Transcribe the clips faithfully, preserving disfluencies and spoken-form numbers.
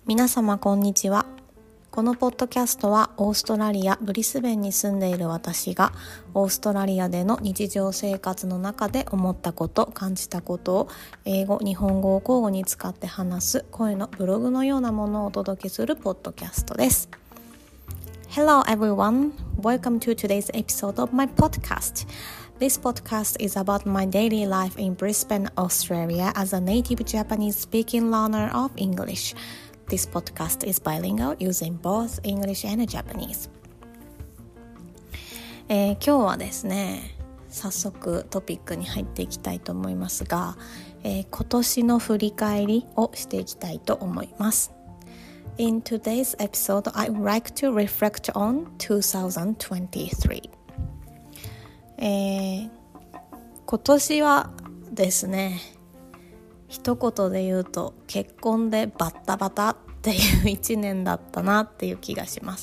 皆様こんにちは。このポッドキャストはオーストラリア・ブリスベンに住んでいる私がオーストラリアでの日常生活の中で思ったこと、感じたことを英語、日本語を交互に使って話す声のブログのようなものをお届けするポッドキャストです。Hello everyone, welcome to today's episode of my podcast. This podcast is about my daily life in Brisbane, Australia as a native Japanese speaking learner of English.This podcast is bilingual using both English and Japanese、えー、今日はですね、早速トピックに入っていきたいと思いますが、えー、今年の振り返りをしていきたいと思います。In today's episode, I would like to reflect on twenty twenty-three、えー、今年はですね、一言で言うと結婚でバッタバタっていう一年だったなっていう気がします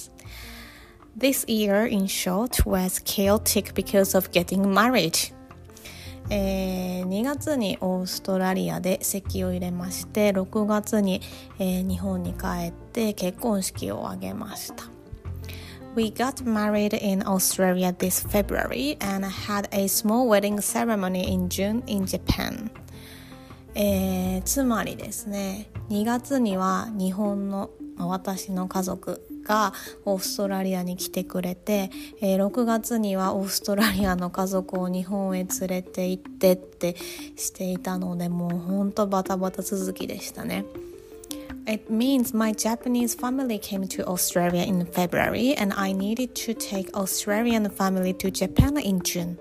。This year, in short, was chaotic because of getting married. えー、にがつにオーストラリアで籍を入れまして、ろくがつに、えー、日本に帰って結婚式を挙げました。We got married in Australia this February and had a small wedding ceremony in June in Japan.えー、つまりですね、にがつには日本の私の家族がオーストラリアに来てくれて、えー、ろくがつにはオーストラリアの家族を日本へ連れて行ってってしていたので、もうほんとバタバタ続きでしたね。It means my Japanese family came to Australia in February and I needed to take Australian family to Japan in June.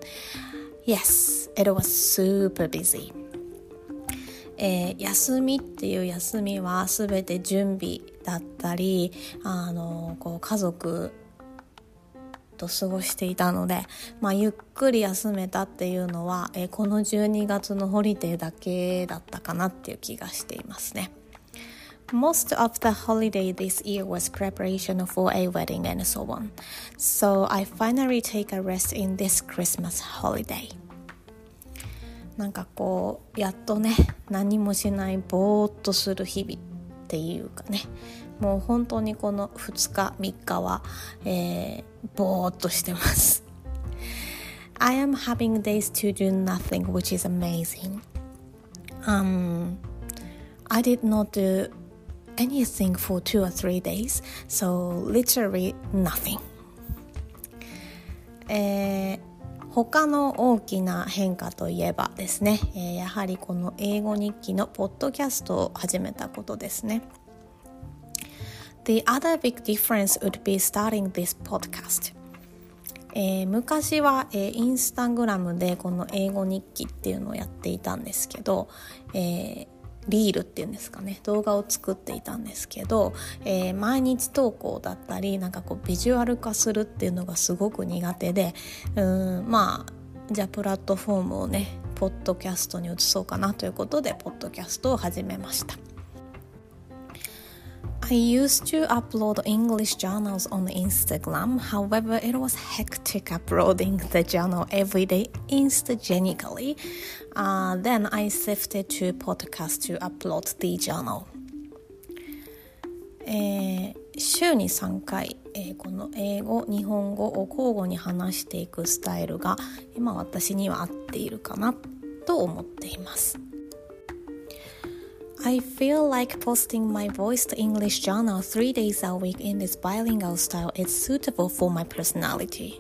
Yes, it was super busy.えー、休みっていう休みはすべて準備だったり、あのこう家族と過ごしていたので、まあ、ゆっくり休めたっていうのは、えー、このじゅうにがつのホリデーだけだったかなっていう気がしていますね。Most of the holiday this year was preparation for a wedding and so on. So I finally take a rest in this Christmas holiday.なんかこうやっとね、何もしないぼーっとする日々っていうかね、もう本当にこのふつかみっかは、えー、ぼーっとしてます。I am having days to do nothing, which is amazing. Um, I did not do anything for two or three days, so literally nothing. えー他の大きな変化といえばですね、えー、やはりこの英語日記のポッドキャストを始めたことですね。The other big difference would be starting this podcast、えー、昔は、えー、インスタグラムでこの英語日記っていうのをやっていたんですけど、えーリールっていうんですかね、動画を作っていたんですけど、えー、毎日投稿だったりなんかこうビジュアル化するっていうのがすごく苦手で、うーんまあじゃあプラットフォームをねポッドキャストに移そうかなということでポッドキャストを始めました。I used to upload English journals on Instagram. However, it was hectic uploading the journal every day instantaneously.Uh, then I shifted to podcast to upload the journal. えー、週にさんかい、えー、この英語、日本語を交互に話していくスタイルが今私には合っているかなと思っています。I feel like posting my voiced English journal three days a week in this bilingual style is suitable for my personality.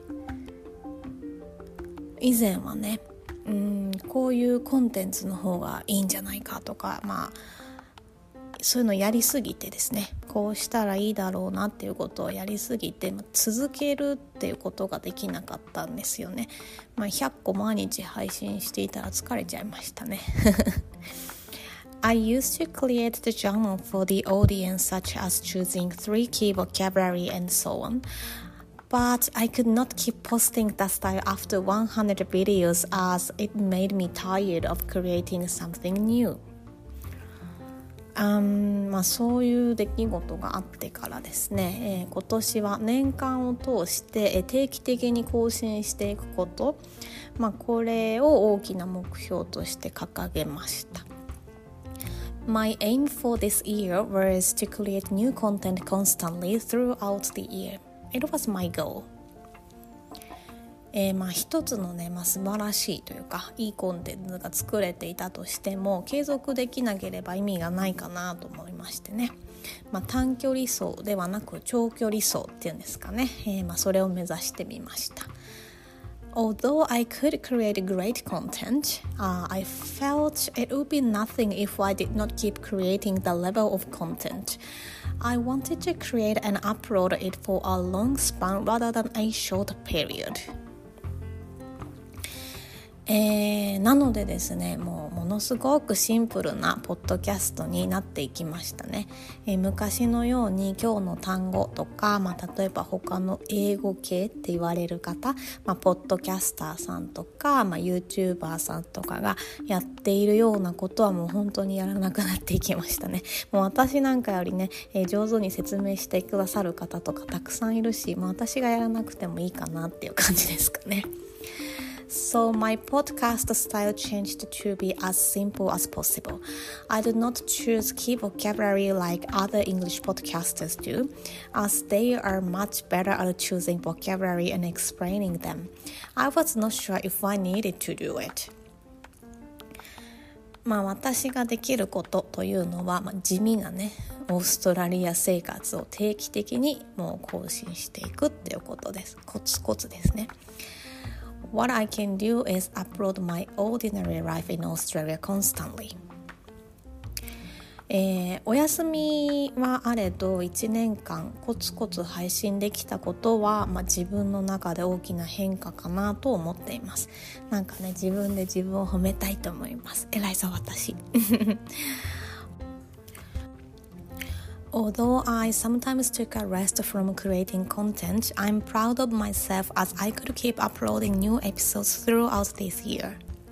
以前はね、うーんこういうコンテンツの方がいいんじゃないかとか、まあそういうのやりすぎてですね、こうしたらいいだろうなっていうことをやりすぎて、まあ、続けるっていうことができなかったんですよね。まあ、ひゃっこ毎日配信していたら疲れちゃいましたね。I used to create the journal for the audience, such as choosing three key vocabulary and so on.But I could not keep posting that style after one hundred videos as it made me tired of creating something new. Um, まあ、そういう出来事があってからですね、えー、今年は年間を通して、えー、定期的に更新していくこと、まあ、これを大きな目標として掲げました。 My aim for this year was to create new content constantly throughout the year. It was my goal. えー、まあ一つのね、まあ、素晴らしいというかいいコンテンツが作れていたとしても継続できなければ意味がないかなと思いましてね、まあ、短距離走ではなく長距離走っていうんですかね、えーまあ、それを目指してみました。Although I could create great content, uh, I felt it would be nothing if I did not keep creating the level of content. I wanted to create and upload it for a long span rather than a short period. えー、なのでですね、もうものすごくシンプルなポッドキャストになっていきましたね。えー、昔のように今日の単語とか、まあ、例えば他の英語系って言われる方、まあ、ポッドキャスターさんとか、まあ、YouTuber さんとかがやっているようなことはもう本当にやらなくなっていきましたね。もう私なんかよりね、えー、上手に説明してくださる方とかたくさんいるし、まあ、私がやらなくてもいいかなっていう感じですかね。So my podcast style changed to be as simple as possible. I do not choose key vocabulary like other English podcasters do, as they are much better at choosing vocabulary and explaining them. I was not sure if I needed to do it. まあ私ができることというのは、まあ、地味なねオーストラリア生活を定期的にもう更新していくっていうことです。コツコツですね。What I can do is upload my ordinary life in Australia constantly. えー、お休みはあれどいちねんかんコツコツ配信できたことは、まあ、自分の中で大きな変化かなと思っています。なんかね自分で自分を褒めたいと思います。偉いぞ私。Although I sometimes took a rest from creating content, I'm proud of myself as I could keep uploading new episodes throughout this year.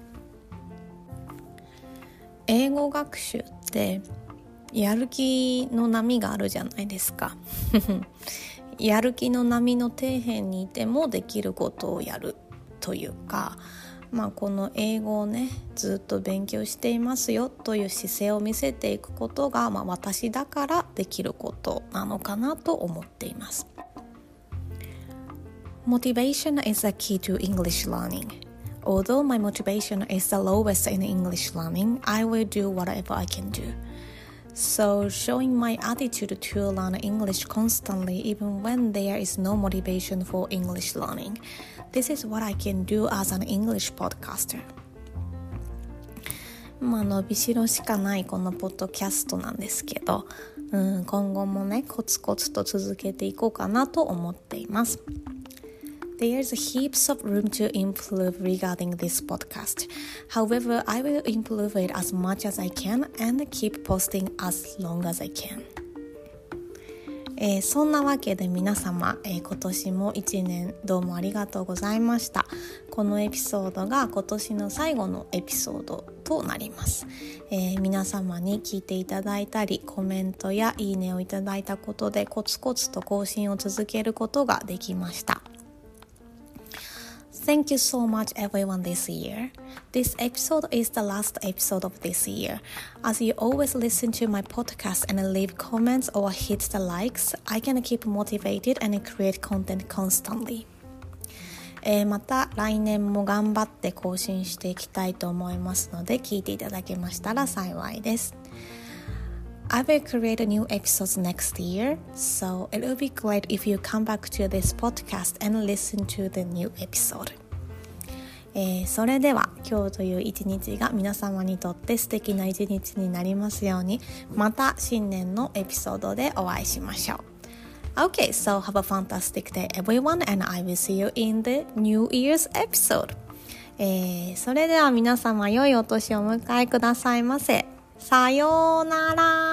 英語学習ってやる気の波があるじゃないですか。やる気の波の底辺にいてもできることをやるというか、まあ、この英語をねずっと勉強していますよという姿勢を見せていくことが、まあ、私だからできることなのかなと思っています。Motivation is a key to English learning. Although my motivation is the lowest in English learning, I will do whatever I can do. So showing my attitude to learn English constantly even when there is no motivation for English learning.This is what I can do as an English podcaster. まあ伸びしろしかないこのポッドキャストなんですけど、うん、今後もねコツコツと続けていこうかなと思っています。There's heaps of room to improve regarding this podcast. However, I will improve it as much as I can and keep posting as long as I can.えー、そんなわけで皆様、えー、今年もいちねんどうもありがとうございました。このエピソードが今年の最後のエピソードとなります。えー、皆様に聞いていただいたりコメントやいいねをいただいたことでコツコツと更新を続けることができました。Thank you so much everyone this year. This episode is the last episode of this year. As you always listen to my podcast and leave comments or hit the likes, I can keep motivated and create content constantly. えー、また来年も頑張って更新していきたいと思いますので聞いていただけましたら幸いです。I will create new episodes next year, so it will be great if you come back to this podcast and listen to the new episode. えー、それでは今日という一日が皆様にとって素敵な一日になりますように、また新年のエピソードでお会いしましょう。Okay, so have a fantastic day everyone and I will see you in the New Year's episode. えー、それでは皆様良いお年をお迎えくださいませ。さようなら。